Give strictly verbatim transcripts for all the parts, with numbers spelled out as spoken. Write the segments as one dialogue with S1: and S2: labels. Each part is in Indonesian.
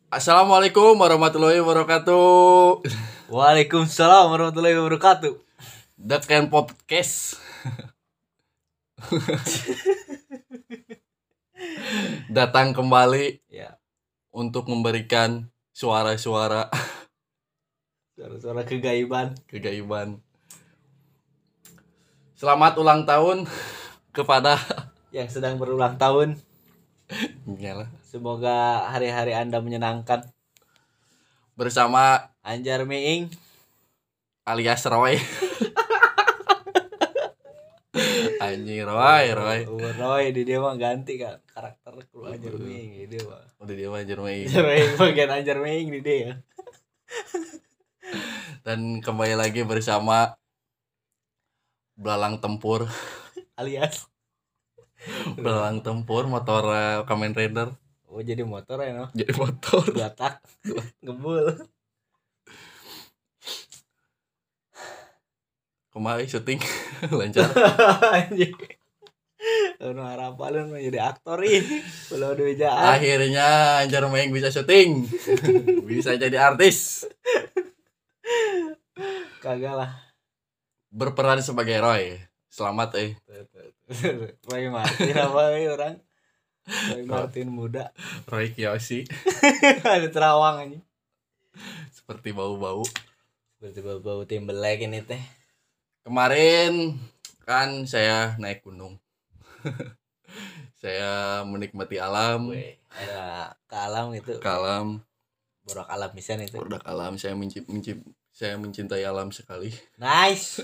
S1: Assalamualaikum warahmatullahi wabarakatuh.
S2: Waalaikumsalam warahmatullahi wabarakatuh.
S1: The Ken Podcast. Datang kembali
S2: Ya,
S1: untuk memberikan suara-suara
S2: suara-suara kegaiban.
S1: kegaiban. Selamat ulang tahun kepada
S2: Yang sedang berulang tahun.
S1: Iyalah.
S2: Semoga hari-hari Anda menyenangkan.
S1: Bersama
S2: Anjar Meing
S1: alias Roy. Anjing Roy, Roy.
S2: Oh, Roy di dia mah ganti kan karakter keluar Anjar Meing di dia mah.
S1: Udah dia mah Anjar Meing.
S2: Anjar Meing bagian Anjar Meing di dia.
S1: Dan kembali lagi bersama Belalang Tempur
S2: Alias
S1: Belalang Tempur motor uh, Kamen Rider.
S2: Oh, jadi motor ya no.
S1: Jadi motor.
S2: Dua tak. Gebul.
S1: Kemarin syuting lancar.
S2: Anjing. Lu harapan lu jadi aktor ini. Belum duijaan.
S1: Akhirnya Anjar Meing bisa syuting. Bisa jadi artis.
S2: Kagak lah.
S1: Berperan sebagai Roy. Selamat eh.
S2: Roy Martin apa ya orang? Roy Martin muda.
S1: Roy Kiyoshi.
S2: Ada terawang aja.
S1: Seperti bau-bau.
S2: Seperti bau-bau Timberlake ini teh.
S1: Kemarin kan saya naik gunung. Saya menikmati alam.
S2: Weh, ada ke alam gitu.
S1: Ke alam.
S2: Borak alam misalnya itu.
S1: Produk alam. Saya mencip, mencip, saya mencintai alam sekali.
S2: Nice.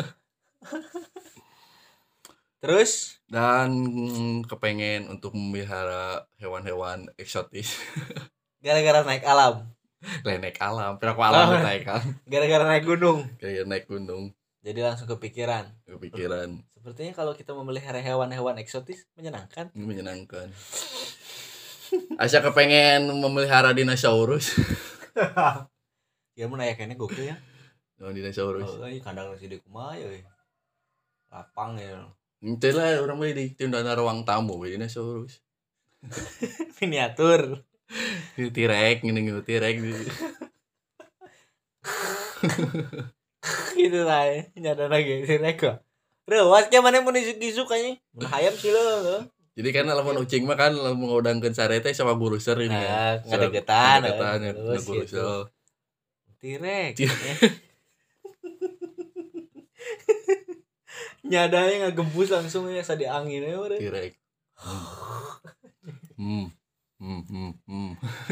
S2: Terus
S1: dan kepengen untuk memelihara hewan-hewan eksotis.
S2: gara-gara naik alam.
S1: Lah naik alam, pira alam oh, naik kan.
S2: Gara-gara naik gunung.
S1: Kayak naik gunung.
S2: Jadi langsung kepikiran.
S1: Kepikiran.
S2: Sepertinya kalau kita memelihara hewan-hewan eksotis menyenangkan.
S1: Menyenangkan. Asa kepengen memelihara dinosaurus.
S2: Ya mun aya kene gokil ya.
S1: Oh, dinosaurus.
S2: Oh, ini kandang si di kumaha ya. Lapang ya.
S1: Ente lah orang mah di tindana ruang tamu we dinosaurus.
S2: Miniatur.
S1: Tirek ngene tirek.
S2: Gitu lah ya. Nyada lagi tirek kok. Reuas ke mana mun isuk-isuk kayaknya. Mun hayam sih lo.
S1: Jadi kan lamun ucing mah kan lamun ngaudangkeun sarete sama guruser ini
S2: nah,
S1: kan.
S2: Ngadegetan.
S1: Ngadegetan ya guruser.
S2: Tirek. Nyadanya ngagembus langsung ya sadi anginnya udah.
S1: Tirek. Hmm. Hmm. Hmm. Hmm.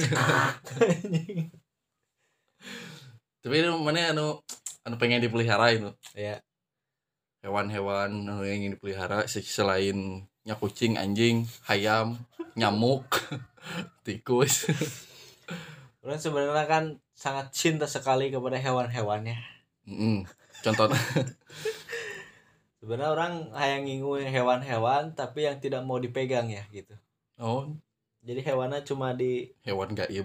S1: Tapi mana anu anu pengen dipelihara itu?
S2: Ya.
S1: Hewan-hewan anu yang ingin dipelihara selain nya kucing, anjing, ayam, nyamuk, tikus.
S2: Orang sebenarnya kan sangat cinta sekali kepada hewan-hewannya.
S1: Mm-mm. Contohnya
S2: sebenarnya orang hayang ngingu hewan-hewan tapi yang tidak mau dipegang ya gitu.
S1: Oh,
S2: jadi hewannya cuma di
S1: hewan gaib.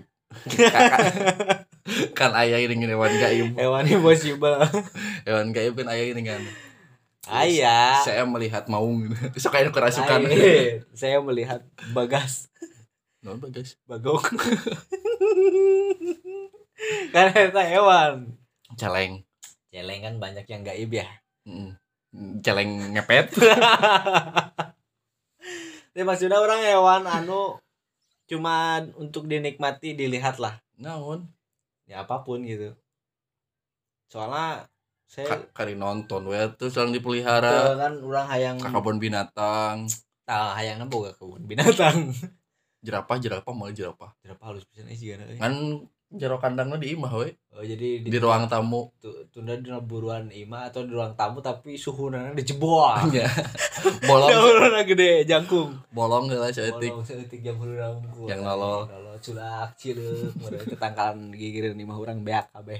S1: Kan ayah ini hewan gaib.
S2: Hewan impossible.
S1: Hewan gaib kan ayah ini kan.
S2: Ayah.
S1: Saya melihat maung. Sok kayak kerasukan.
S2: Ayah. Saya melihat bagas.
S1: Non bagas.
S2: Bagong. Kan itu hewan.
S1: Celeng.
S2: Celeng kan banyak yang gaib ya.
S1: Mm. Celeng ngepet.
S2: Ini maksudnya orang hewan anu cuma untuk dinikmati dilihat lah.
S1: Naon?
S2: Ya apapun gitu. Soalnya saya
S1: Ka- kari nonton we terus lang dipelihara.
S2: kan orang hayang
S1: ke kebun binatang.
S2: Tah hayangna boga kebun binatang.
S1: Jerapah jerapah malah jerapah.
S2: Jerapah halus pisan sih kan.
S1: Kan jero kandangna di imah we.
S2: Oh jadi
S1: di, di ruang tamu.
S2: Tunda di buruan imah atau di ruang tamu tapi suhuna dijebol.
S1: Iya. Bolong.
S2: Jangkulna gede jangkung.
S1: Bolong heula saeutik.
S2: Bolong saeutik jangkulna unggul.
S1: Yang nolol.
S2: Nolol culak cileuk meureun ketangkalan gigireun imah urang beak kabeh.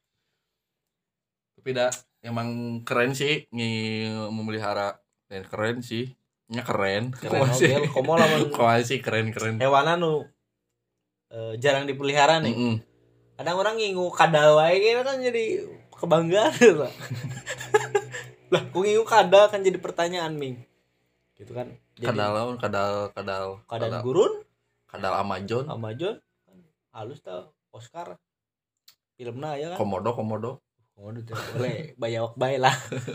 S1: Tapi dah emang keren sih ngi memelihara dan keren sih. Nya keren.
S2: Keren oge komo lamun
S1: sih keren-keren.
S2: Hewan anu uh, jarang dipelihara nih.
S1: Mm-mm.
S2: Kadang orang ngingu kadal wae gitu kan jadi kebanggaan lah. Lah, ku ngingu kadal kan jadi pertanyaan Ming. Gitu kan. Jadi,
S1: kadal kadal kadal
S2: kadal gurun,
S1: kadal Amazon
S2: Amazon halus tau Oscar filmna ya kan
S1: Komodo komodo
S2: komodo teh boleh bayawak bae lah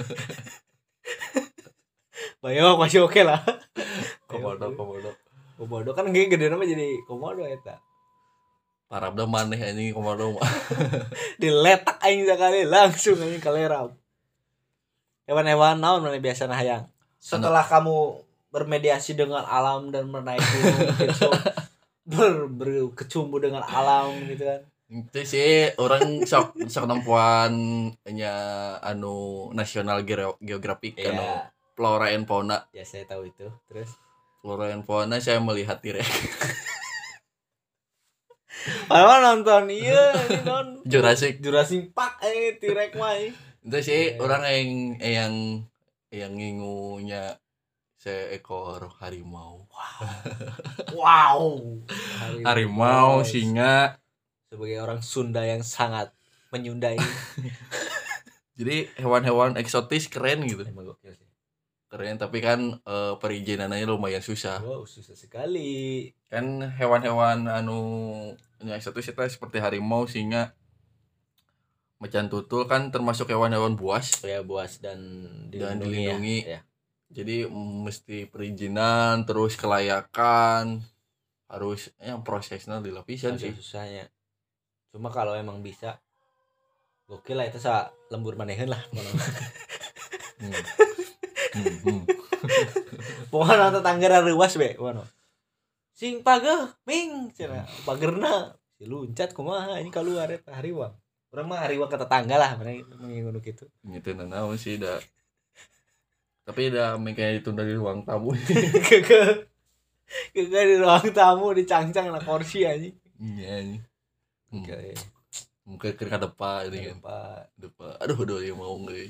S2: bayawak masih oke lah
S1: komodo komodo
S2: komodo kan ge gede nama jadi komodo eta
S1: parabda maneh anjing komodo mah
S2: diletak aing sekali langsung aing kalerap hewan-hewan naon mana biasa hayang setelah kamu bermediasi dengan alam dan menaiki gunung mungkin so ber, berkecumbu dengan alam gitu kan
S1: itu sih orang sok sok nempuan nya anu nasional geografik
S2: ya.
S1: anu flora and fauna
S2: Ya saya tahu itu terus
S1: flora and fauna saya melihat T-Rex
S2: padahal nonton iya ini non
S1: Jurassic
S2: Jurassic Park eh T-Rex mah
S1: itu sih yeah. Orang yang yang yang ngingunya seekor harimau
S2: wow, wow.
S1: harimau, harimau singa
S2: sebagai orang Sunda yang sangat menyundai
S1: jadi hewan-hewan eksotis keren gitu
S2: emang gokil sih
S1: keren tapi kan e, perizinannya lumayan susah
S2: wow susah sekali
S1: kan hewan-hewan anu yang eksotis itu seperti harimau singa macan tutul kan termasuk hewan-hewan buas
S2: ya buas dan dilindungi,
S1: dan dilindungi.
S2: Ya.
S1: Jadi mesti perizinan terus kelayakan harus yang prosesnya dilapisan sih
S2: susahnya cuma kalau emang bisa gokil lah itu sa lembur manehan lah hmm. hmm, hmm. Pokoknya tetangga ruas be pokoknya sing pageh ming cenah pagerna si luncat kumaha ini keluar eta hariwang urang mah hariwang ke tetangga lah mana mengingun kitu
S1: gitu naon sih da tapi udah kayak ditunda di ruang tamu
S2: keke keke di ruang tamu dicangcang na kursi anjing
S1: iya anjing
S2: oke
S1: mungkin ke depan ini kan depan aduh aduh ya mau nggak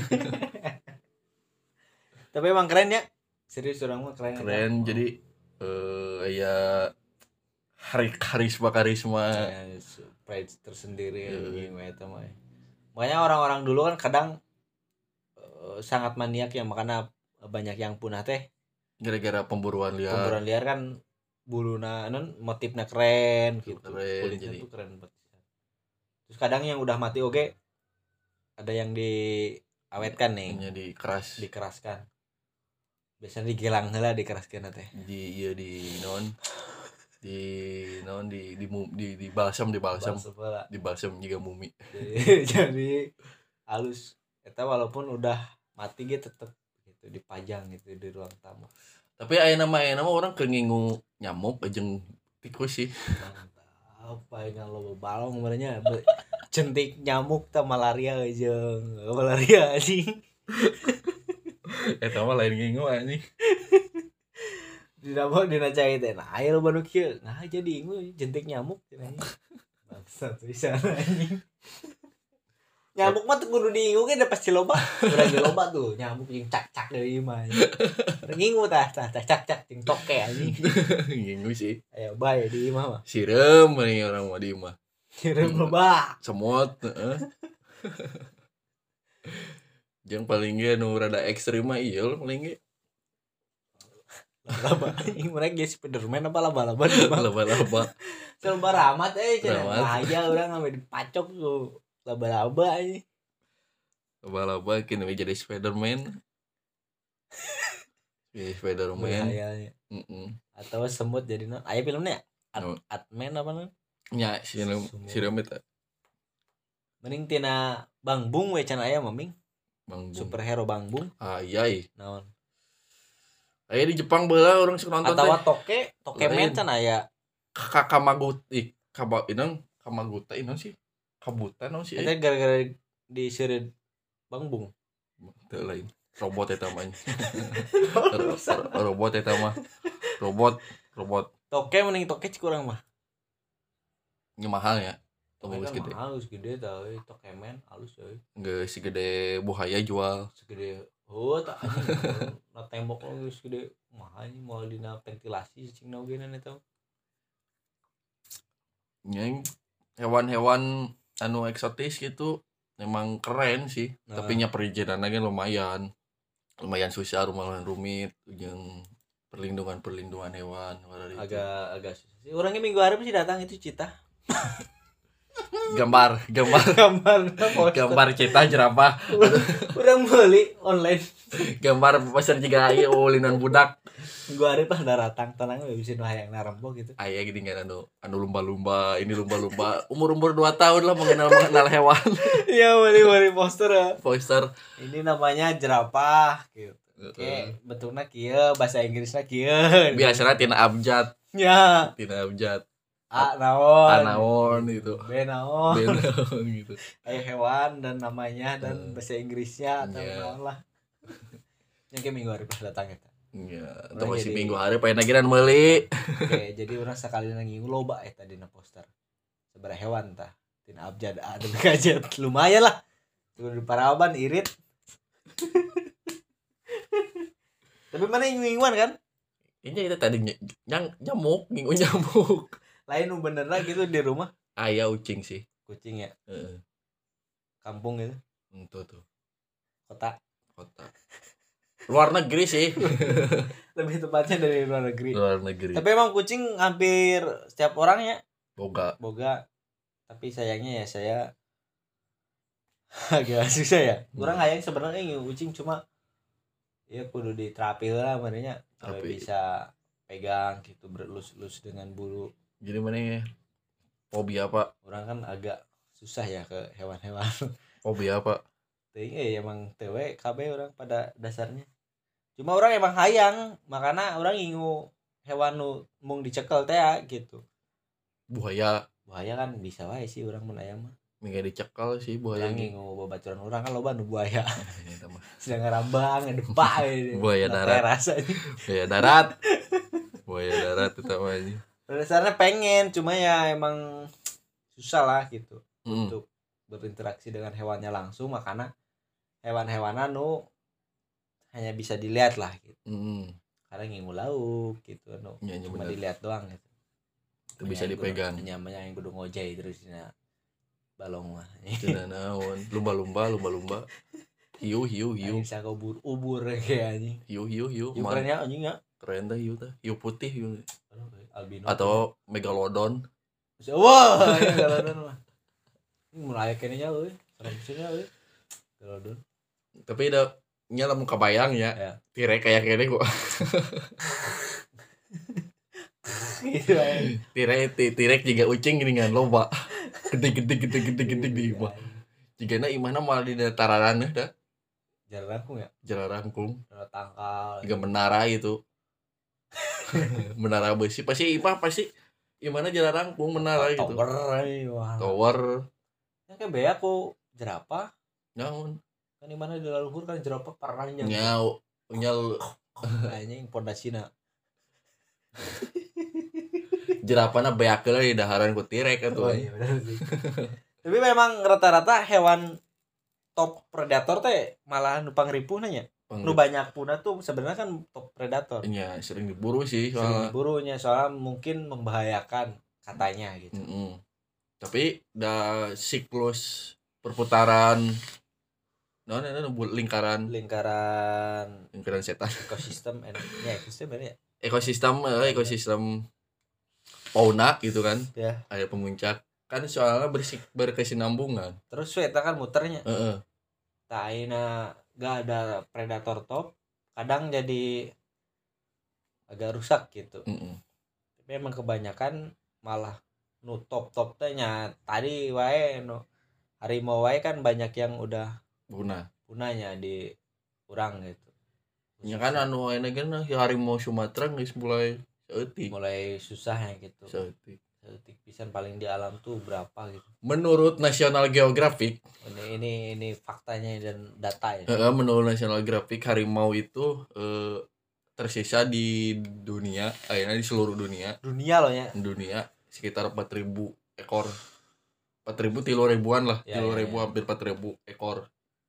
S2: tapi emang keren ya serius orang mah keren
S1: keren kan? Jadi eh ya hari karisma karisma
S2: ya, pride tersendiri anjing uh. Eta mah makanya orang-orang dulu kan kadang sangat maniak ya makanya banyak yang punah teh
S1: gara-gara pemburuan liar
S2: pemburuan liar kan buluna non motifnya keren gitu
S1: keren,
S2: kulitnya
S1: jadi.
S2: Tuh keren banget terus kadang yang udah mati oke okay, ada yang diawetkan nih
S1: jadi keras
S2: dikeraskan biasanya digelang lah dikeraskan teh
S1: di iya di non di non di di di, di balsam di balsam di balsam juga mumi
S2: jadi, jadi halus eta walaupun udah mati gitu tetep gitu dipajang gitu di ruang tamu
S1: tapi aya nama aya nama orang kengingu nyamuk jeung tikus sih
S2: apa yang lo balong sebenarnya jentik nyamuk ta malaria jeung malaria sih
S1: eta mah lain ngingu anjing
S2: di nama dina cai teh nah aya lo banu kieu nah jadi ingu jentik nyamuk cenah bangsat bisa anjing nyamuk mah tuh kudu diingu kan udah pasti loba udah ge loba tuh nyamuk yang cak-cak dari imah ngingu tah tah tah cak-cak jeung toke anjing
S1: ngingu sih
S2: aya bae di imah mah
S1: sirem nih orang mah di imah
S2: sirem loba
S1: semut heeh jeung paling ge nu rada ekstrim mah ieu paling ge
S2: laba anjing mereka ge Spiderman apa laba-laba
S1: laba-laba
S2: laba ramat eh cenah bahaya urang sampai dipacok tuh laba-laba aja
S1: laba-laba kini jadi Spiderman jadi Spiderman
S2: mm-mm. Atau semut jadi non aya filmnya At- no. Atman apa non
S1: nya film film itu
S2: mending tina Bang Bung we can aya maming
S1: Bang Bung
S2: superhero Bang Bung
S1: ayai
S2: naon
S1: aya di Jepang beula orang sok nonton
S2: teh atawa toke toke men can aya
S1: Kamaguti kaba inang Kamaguta inang sih kabutan non sih
S2: eta gara-gara di seureud Bang Bung
S1: teu lain robot eta mah robot eta mah robot robot
S2: toke mending toke cik urang mah
S1: nya mahal ya
S2: toke kan gede halus gede tah euy toke men halus euy
S1: geus segede buaya jual
S2: segede oh tak anjing na tembok geus gede mahal moal dina ventilasi cingna ogenan eta
S1: nya hewan-hewan anu eksotis gitu memang keren sih nah. Tapi nya perizinannya lumayan lumayan susah lumayan rumit jeung perlindungan perlindungan hewan
S2: agak agak susah sih orangnya minggu hari sih datang itu Cita
S1: gambar gambar
S2: gambar
S1: gambar cita jerapah
S2: urang meuli online
S1: gambar poster juga ieu ulinan budak
S2: gua hari pas daratang tenang we bisa nu hayang narempok gitu
S1: aya gini kan anu anu lumba-lumba ini lumba-lumba umur-umur dua tahun lah mengenal mengenal hewan
S2: iya meuli-meuli poster ya.
S1: poster
S2: Ini namanya jerapah gitu. Oke, bentuknya kieu, bahasa Inggrisnya kieu.
S1: Biasanya tina abjad.
S2: Ya.
S1: Tina abjad.
S2: A naon?
S1: A naon gitu.
S2: B naon?
S1: B naon gitu.
S2: Ayo hewan dan namanya dan bahasa Inggrisnya atau
S1: yeah.
S2: naon lah. Yang ke minggu hari pas datang eta.
S1: Iya, atau masih jadi... minggu hari pengen nagiran meuli.
S2: Oke, jadi orang sekali nanging loba eta dina poster. Sabaraha hewan tah. Tina abjad A dan gadget. Lumayan lah. Tuh di Paraban irit. Tapi mana nginguan kan?
S1: Ini kita tadi nyang nyamuk, ngingu nyamuk.
S2: Lain nu bener lah gitu di rumah.
S1: Aya ucing sih.
S2: Kucing ya.
S1: Heeh.
S2: Kampung gitu.
S1: Itu tuh.
S2: Kota.
S1: Kota. Luar negeri sih.
S2: Lebih tepatnya dari luar negeri.
S1: Luar negeri.
S2: Tapi emang kucing hampir setiap orang ya.
S1: Boga.
S2: Boga. Tapi sayangnya ya saya agak susah ya. Kurang hayang sebenarnya ingin kucing cuma ya kudu diterapi lah makanya sampai bisa pegang gitu berelus-elus dengan bulu.
S1: Jadi mana ya? Fobia apa?
S2: Orang kan agak susah ya ke hewan-hewan.
S1: Fobia apa?
S2: Ting eh emang tewe K B orang pada dasarnya. Cuma orang emang hayang, makanya orang ingu hewan nu mung dicekel teh gitu.
S1: Buaya.
S2: Buaya kan bisa wae sih orang mun aya mah.
S1: Mingga dicekal sih buaya
S2: ini ngingu babaturan orang kan loba nu buaya. Sedang ngarambang ngedepak
S1: buaya darat. Buaya darat. Buaya darat itu namanya.
S2: Dasarnya pengen, cuma ya emang susah lah gitu mm. untuk berinteraksi dengan hewannya langsung, makanya hewan-hewanan nu hanya bisa dilihat lah gitu. Mm. Karena ngingu lauk gitu nu ya, cuma bener. Dilihat doang gitu.
S1: Itu bisa dipegang.
S2: Nyamanya yang kudu ngojay terus dina balong mah.
S1: Cenah naon, lumba-lumba, lumba-lumba. Hiu hiu hiu.
S2: Bisa ubur ubur kayak anjing.
S1: Hiu hiu hiu.
S2: Hiu keren ya anjing ya.
S1: Keren teh hiu teh. Hiu putih hiu.
S2: Albino
S1: atau ya. Megalodon.
S2: Wah, megalodon mah. Mulai kene nya euy, seremnya euy. Megalodon.
S1: Tapi da nya lamun kabayang ya. ya. Tirek kayak kene kok. Tirek tirek juga ucing gini kan loba. Gede-gede gede-gede gede di imah. Jigana imahna malah di dataran dah.
S2: Jalan rangkung ya?
S1: Jalan rangkung.
S2: Jalan tangkal.
S1: Juga menara gitu. Menara besi pasti imah pasti gimana jalan rangkung menara gitu.
S2: Tower.
S1: Tower.
S2: Yang kayak bea aku jerapah.
S1: Naon?
S2: Kan di mana di luhur kan jerapah parahnya.
S1: Nyau, nyal
S2: kayaknya yang pondasina.
S1: Jerapahna beakeun di daharan ku tirek atuh.
S2: Oh, iya benar sih. Tapi memang rata-rata hewan top predator teh malah nu pangripuh nya. Nu banyak punah tuh sebenarnya kan top predator.
S1: Iya, sering diburu sih soalnya.
S2: Sering diburunya soalnya mungkin membahayakan katanya gitu.
S1: Mm-hmm. Tapi da siklus perputaran no no no lingkaran
S2: lingkaran
S1: lingkaran setan
S2: ekosistem ya ekosistem ya
S1: ekosistem eh, ekosistem fauna gitu kan
S2: ya.
S1: Ada pemuncak kan soalnya bersik berkesinambungan
S2: terus eta kan muternya
S1: heeh
S2: tah ayeuna gak ada predator top kadang jadi agak rusak gitu. Mm-mm. Tapi emang kebanyakan malah nu top top tehnya tadi wae nu harimau wae kan banyak yang udah
S1: punah
S2: punahnya di urang gitu.
S1: Ya kan anu aya geuna harimau Sumatera geus mulai saeutik
S2: mulai susah ya gitu.
S1: Saeutik
S2: saeutik pisan paling di alam tuh berapa gitu.
S1: Menurut National Geographic
S2: ini ini ini faktanya dan data ya.
S1: Uh, menurut National Geographic harimau itu uh, tersisa di dunia, akhirnya di seluruh dunia.
S2: Dunia loh ya.
S1: Dunia sekitar empat ribu ekor. empat ribu tiga ribuan lah, ya, tiga ribu ya, ya. Hampir empat ribu ekor.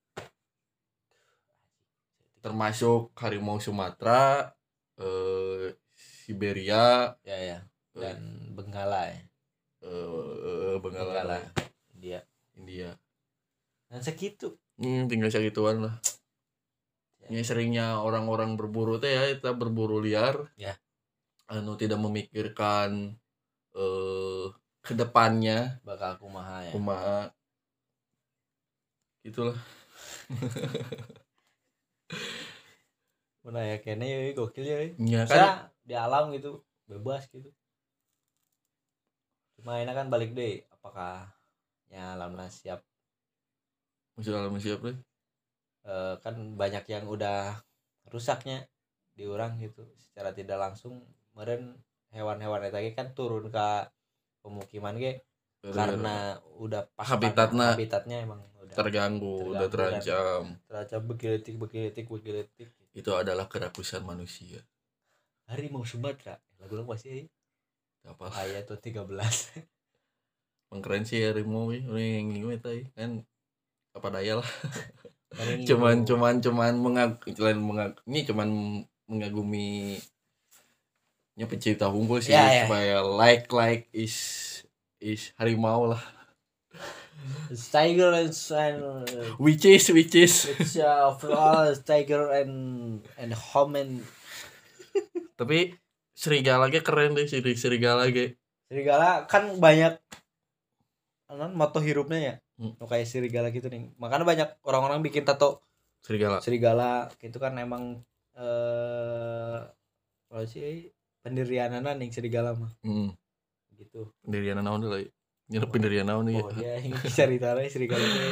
S1: Termasuk harimau Sumatera, uh, Siberia,
S2: ya ya. Dan uh, Benggala ya.
S1: Uh, Benggala. Benggala.
S2: India.
S1: India.
S2: Dan segitu.
S1: Hmm, tinggal segituan lah. Ya. Ini seringnya orang-orang berburu teh ya, kita berburu liar.
S2: Ya.
S1: Anu tidak memikirkan eh, kedepannya
S2: bakal kumaha ya.
S1: kumaha gitulah.
S2: Mana ya kene ya gokil ya.
S1: Ya
S2: Kan
S1: kan
S2: di alam gitu bebas gitu. Cuma ini kan balik deh apakah ya alamnya siap.
S1: masih alam siapa deh.
S2: E, kan banyak yang udah rusaknya di orang gitu secara tidak langsung. Kemarin hewan-hewan itu kan turun ke pemukiman ge karena udah pas
S1: habitatnya
S2: habitatnya emang udah
S1: terganggu, udah terancam.
S2: Terancam begeletik begeletik begeletik.
S1: Itu adalah kerakusan manusia.
S2: Harimau Sumatera lagu lagu masih
S1: apa
S2: ayat tuh tiga belas.
S1: Keren sih harimau ini yang ngingin itu kan apa daya lah. cuman cuman cuman mengag selain mengag ini cuman mengagumi nya pencipta unggul sih
S2: ya,
S1: supaya ya. like like is is harimau lah.
S2: Tiger and, and
S1: which is which is
S2: which uh, of all tiger and and human.
S1: Tapi serigala ge keren deh sih serigala ge.
S2: Serigala kan banyak kan moto hirupnya ya.
S1: Hmm.
S2: Kayak serigala gitu nih. Makanya banyak orang-orang bikin tato
S1: serigala.
S2: Serigala gitu kan emang eh apa sih pendirianana nih serigala mah.
S1: Hmm.
S2: Gitu.
S1: Pendirian naon deui? Nyerep pendirian naon
S2: nih. Oh, ya ini ceritanya serigala teh.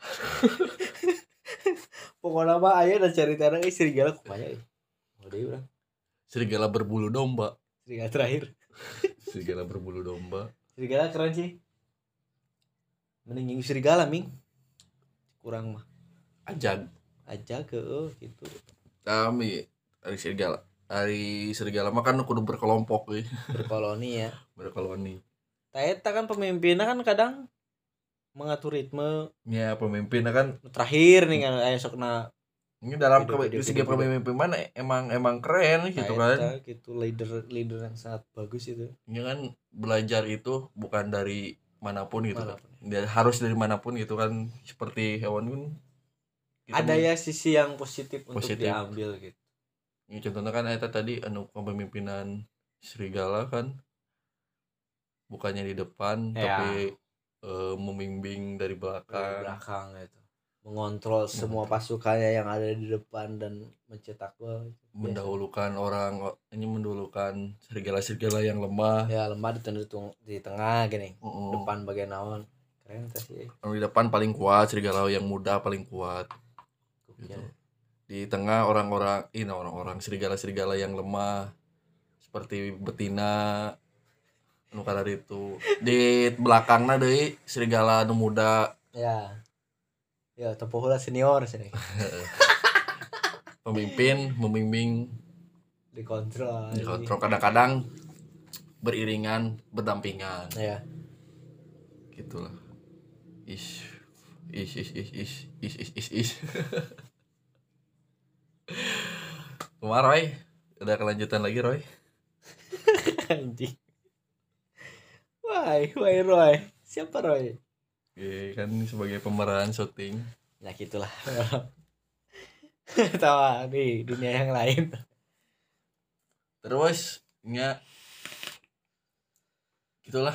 S2: Pokoknya mah aya dan ceritanya serigala kumaha euy. Oh deui urang.
S1: Serigala berbulu domba.
S2: Serigala terakhir.
S1: Serigala berbulu domba.
S2: Serigala keren sih. Mending serigala ming. Kurang mah.
S1: Ajag.
S2: Ajag ke oh, gitu.
S1: Kami dari serigala. Dari serigala mah kan kudu berkelompok euy.
S2: Berkoloni ya.
S1: Berkoloni.
S2: Eta kan pemimpinnya kan kadang mengatur ritme.
S1: Ya pemimpinnya kan
S2: terakhir nih kan aya sokna.
S1: Ini dalam ke segi pemimpinan emang emang keren gitu kan.
S2: Gitu leader leader yang sangat bagus itu.
S1: Ini kan belajar itu bukan dari manapun gitu. Manapun. Kan. Harus dari manapun gitu kan seperti hewan pun.
S2: Ada ya sisi yang positif, positif untuk diambil gitu.
S1: Ini contohnya kan eta tadi anu kepemimpinan serigala kan bukannya di depan ya. Tapi e, membimbing dari belakang.
S2: Dari belakang gitu. Mengontrol semua pasukannya yang ada di depan dan mencetak gol.
S1: Mendahulukan biasa. Orang ini mendahulukan serigala-serigala yang lemah.
S2: Ya lemah di, di tengah gini.
S1: Uh-uh.
S2: Depan bagian naon. Keren sih.
S1: Di depan paling kuat serigala yang muda paling kuat. Gitu. Di tengah orang-orang ini orang-orang serigala-serigala yang lemah seperti betina anu kadar itu di belakangna deui serigala anu muda
S2: ya ya tempohula senior sini.
S1: Pemimpin membimbing
S2: dikontrol
S1: dikontrol kadang-kadang beriringan berdampingan
S2: ya
S1: gitulah is is is is is is is is is Kumar Roy ada kelanjutan lagi Roy.
S2: Anjing. Why, why Roy? Siapa Roy?
S1: Oke, kan sebagai pemeran syuting.
S2: Ya gitulah. Tawa di dunia yang lain.
S1: Terus nya gitulah.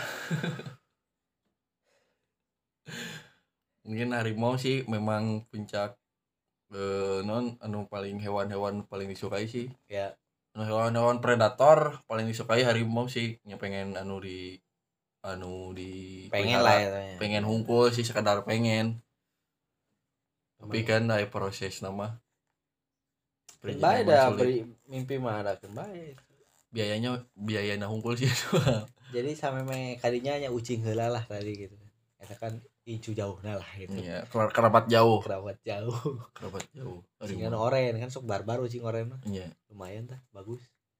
S1: Mungkin harimau sih memang puncak eh, non anu paling hewan-hewan paling disukai sih.
S2: Ya.
S1: Anu hewan-hewan predator paling disukai harimau sih. Nya pengen anu di anu di
S2: pengen lah ya,
S1: pengen hungkul sih sekadar pengen tapi kan ada proses nama
S2: baik dah mimpi mah ada baik
S1: biayanya biayanya hungkul sih
S2: jadi sampai me kadinya nya ucing heula lah tadi gitu eta kan incu jauhna lah gitu
S1: iya kerabat jauh
S2: kerabat jauh
S1: kerabat jauh
S2: ucingan oren kan sok barbar ucing oren mah
S1: iya
S2: lumayan tah bagus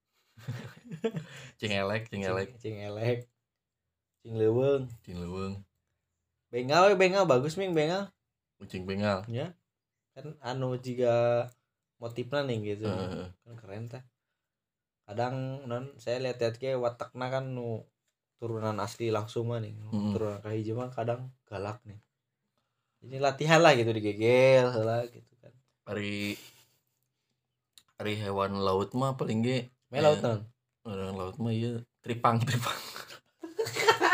S1: cing elek cing elek
S2: cing elek cing leuweung
S1: cing leuweung
S2: bengal we bengal bagus ming bengal
S1: kucing bengal
S2: ya kan anu juga motifna nih gitu uh. Kan keren tah kadang non saya lihat-lihat ke watakna kan nu turunan asli langsung mah nih hmm. Turunan kahiji mah kadang galak nih ini latihan lah gitu digegel lah gitu kan
S1: hari hari hewan laut mah paling ge
S2: me laut non
S1: orang laut mah iya tripang tripang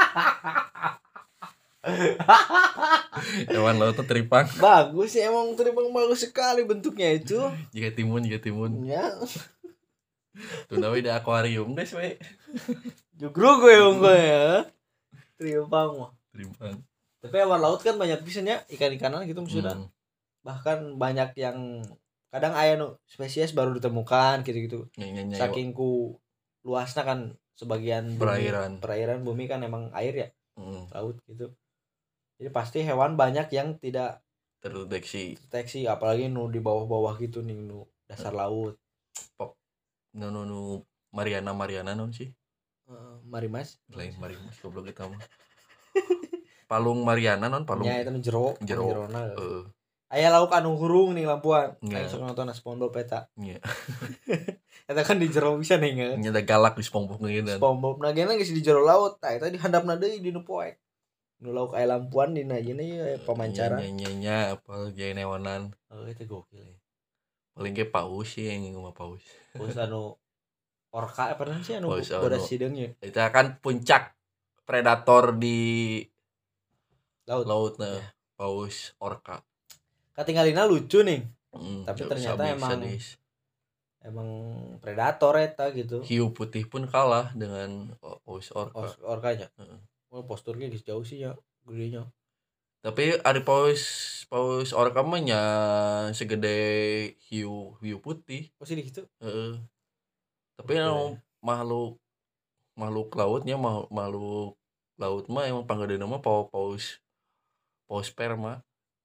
S1: Hewan laut tuh teripang.
S2: Bagus sih emang teripang, bagus sekali bentuknya itu.
S1: Jika timun, jika timun.
S2: Ya.
S1: Tuh nawe di akuarium guys we.
S2: Jugruk gue unggul ya. Teripang mah.
S1: Teripang.
S2: Tapi hewan laut kan banyak pisannya, ikan-ikanan gitu maksudnya.
S1: Hmm.
S2: Bahkan banyak yang kadang aya nu spesies baru ditemukan gitu-gitu.
S1: Nyanyi-nyanyi.
S2: Saking ku luasnya kan sebagian bumi,
S1: Perairan.
S2: perairan bumi kan emang air ya,
S1: Hmm.
S2: laut gitu. Jadi pasti hewan banyak yang tidak
S1: Terdeteksi.
S2: terdeteksi, apalagi nu di bawah-bawah gitu nih, nu dasar laut.
S1: Pop. Nu nu nu Mariana Mariana non sih?
S2: Uh, mari mas.
S1: Lain Marimas goblok kita mah. Palung Mariana non palung.
S2: Nya eta nu jero,
S1: Jero.
S2: jerona.
S1: Heeh.
S2: Aya lauk anu hurung nih lampuan.
S1: Nya.
S2: Aya sok nonton SpongeBob eta.
S1: Nya.
S2: Eta kan di jero bisa nih nge.
S1: Nya da galak di SpongeBob ngeunan.
S2: SpongeBob na geuna geus di jero laut. Tah eta dihandapna deui di nu poek. Nu lauk aya lampuan dina ieu nya pamancara.
S1: Nya nya nya apa ge newanan.
S2: Oh itu gokil ya.
S1: Paling ge paus sih yang ngomong paus.
S2: Paus anu orca apa namanya sih anu
S1: Paus
S2: bodas
S1: anu.
S2: sideungnya.
S1: Itu kan puncak predator di
S2: Laut.
S1: laut nah.
S2: Ya.
S1: Paus orca.
S2: Katinggalina lucu nih.
S1: Hmm,
S2: Tapi
S1: jauh
S2: ternyata
S1: sadis,
S2: emang
S1: sadis.
S2: emang predator eta gitu.
S1: Hiu putih pun kalah dengan paus orca.
S2: Os- orkanya.
S1: Heeh.
S2: Oh, posturnya geus jauh sih ya gedenya.
S1: Tapi ada paus paus orca mah nya segede hiu hiu putih.
S2: Oh sih gitu.
S1: Heeh. Tapi
S2: Oke.
S1: anu makhluk makhluk lautnya makhluk, makhluk laut mah emang panggadena mah paus paus paus sperma.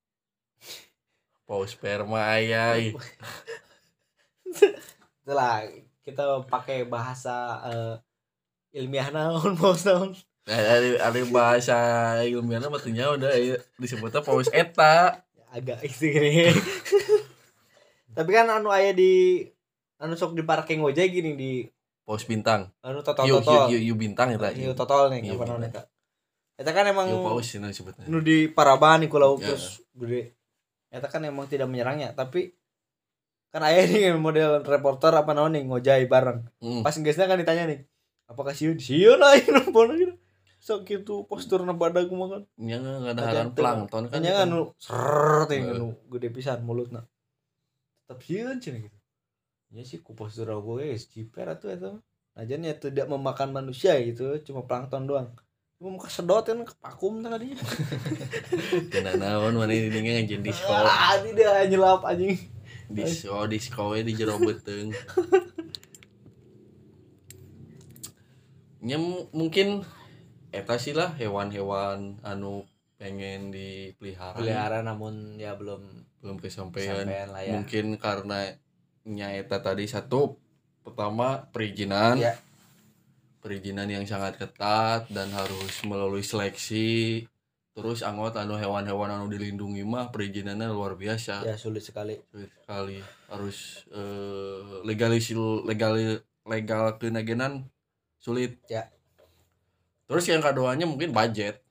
S1: Paus sperma aya.
S2: Itulah kita pakai bahasa uh, ilmiah naon paus naon.
S1: Ada ada bahasa ilmiahna mah teu nya udah disebutnya paus eta.
S2: Agak itu gini. Tapi kan anu aya di anu sok di parking ojek gini di
S1: Paus bintang.
S2: anu
S1: Hiu
S2: totol-totol.
S1: hiu hiu bintang eta.
S2: Hiu totol nih
S1: Hiu
S2: apa namanya
S1: bintang.
S2: eta. Eta kan emang
S1: Hiu paus cenah disebutna.
S2: nu di Paraban iku laut
S1: Ya.
S2: terus gede. Eta kan emang tidak menyerangnya, tapi kan aya nih model reporter apa naon nih ngojay bareng.
S1: Hmm.
S2: Pas geusna kan ditanya nih, apakah sieun? Sieun aing numpun gitu. Sok kitu posturna badag mah kan.
S1: Nya ngadaharan plankton kan.
S2: Nya
S1: itu.
S2: anu ser teh
S1: Heeh.
S2: anu gede pisan mulutna. Tetep sieun cenah gitu. Nya sih ku postur gue geus jiper atuh eta mah. Najan ya tidak memakan manusia gitu, cuma plankton doang. Cuma muka sedot kan kepakum tah kadinya.
S1: Cenah naon mana ini ngajen disco.
S2: Ah, tidak nyelap anjing.
S1: Disco disco we di jero beuteung. Nya m- mungkin eta sih lah hewan-hewan anu pengen dipelihara.
S2: Pelihara namun ya belum
S1: Belum kesampaian.
S2: sampean lah ya.
S1: Mungkin karena nya eta tadi satu pertama perizinan.
S2: Ya.
S1: Perizinan yang sangat ketat dan harus melalui seleksi. Terus anggot anu hewan-hewan anu dilindungi mah perizinannya luar biasa.
S2: Ya sulit sekali.
S1: Sulit sekali. Harus eh, legalis legal legal kenagenan sulit.
S2: Ya.
S1: Terus yang keduanya mungkin budget.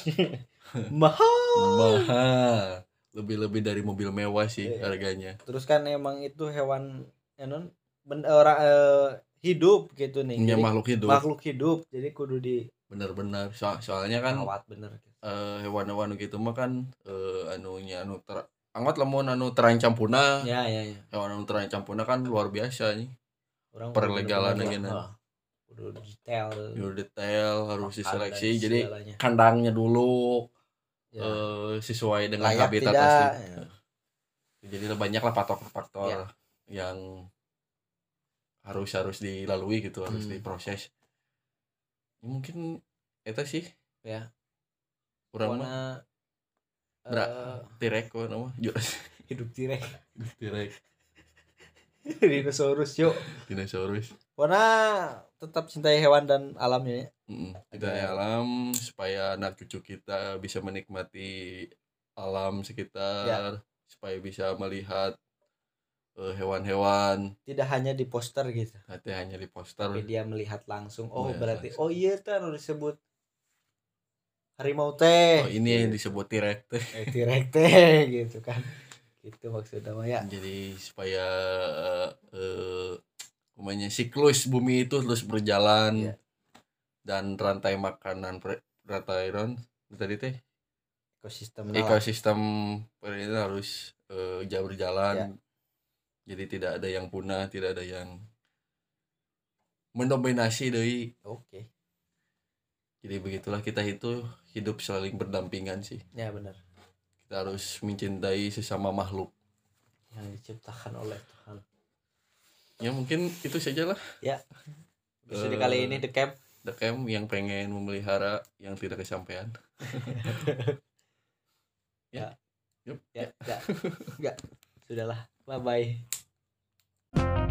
S2: Mahal.
S1: Mahal. Lebih-lebih dari mobil mewah sih
S2: Iya.
S1: harganya.
S2: Terus kan emang itu hewan ya non ben- orang eh, hidup gitu nih.
S1: Nya
S2: Jadi,
S1: makhluk hidup.
S2: makhluk hidup. Jadi kudu di
S1: Bener-bener. So- soalnya kan
S2: rawat bener.
S1: eh, hewan-hewan gitu mah kan eh, anunya anu ter anggot lamun anu terancam punah.
S2: Ya ya ya.
S1: Hewan anu terancam punah kan luar biasa nih.
S2: Orang
S1: Perlegalan
S2: bener-bener
S1: ageuna.
S2: lah, oh, kudu detail.
S1: Di detail harus
S2: makan
S1: diseleksi.
S2: dan
S1: Jadi
S2: segalanya.
S1: kandangnya dulu
S2: Ya.
S1: eh, sesuai dengan
S2: Layak
S1: habitat
S2: tidak,
S1: asli.
S2: ya.
S1: Jadi banyak lah faktor-faktor
S2: Ya.
S1: yang harus harus dilalui gitu, harus
S2: Hmm.
S1: diproses. Ya, mungkin eta sih
S2: Ya.
S1: kurang mah
S2: Warna
S1: Bra-
S2: eh,
S1: tirek kok nama
S2: hidup tirek.
S1: tirek
S2: Dinosaurus yuk.
S1: dinosaurus.
S2: Warna tetap cintai hewan dan alamnya ya.
S1: Mm, kita alam supaya anak cucu kita bisa menikmati alam sekitar, supaya bisa melihat eh, hewan-hewan,
S2: Tidak hanya di poster gitu.
S1: nanti hanya di poster.
S2: Tapi dia melihat langsung. Oh,
S1: Melihat
S2: berarti
S1: langsung.
S2: oh iya teh anu disebut harimau teh.
S1: Oh, ini yang disebut tirek teh.
S2: eh, tirek teh gitu kan. Gitu maksudnya mah ya.
S1: Jadi supaya eh umumnya siklus bumi itu terus berjalan,
S2: Iya.
S1: dan rantai makanan pre- rata iron tadi teh
S2: ekosistem lah.
S1: ekosistem ini harus uh, jauh berjalan
S2: Ya.
S1: Jadi tidak ada yang punah, tidak ada yang mendominasi deui.
S2: Oke.
S1: Jadi begitulah kita itu hidup saling berdampingan sih.
S2: Ya benar.
S1: Kita harus mencintai sesama makhluk
S2: yang diciptakan oleh Tuhan.
S1: Ya mungkin itu sajalah.
S2: Ya. Episode uh, kali ini The Camp.
S1: The Camp yang pengen memelihara yang tidak kesampaian.
S2: ya.
S1: Yup.
S2: Ya, enggak. Enggak. Sudahlah. Bye bye.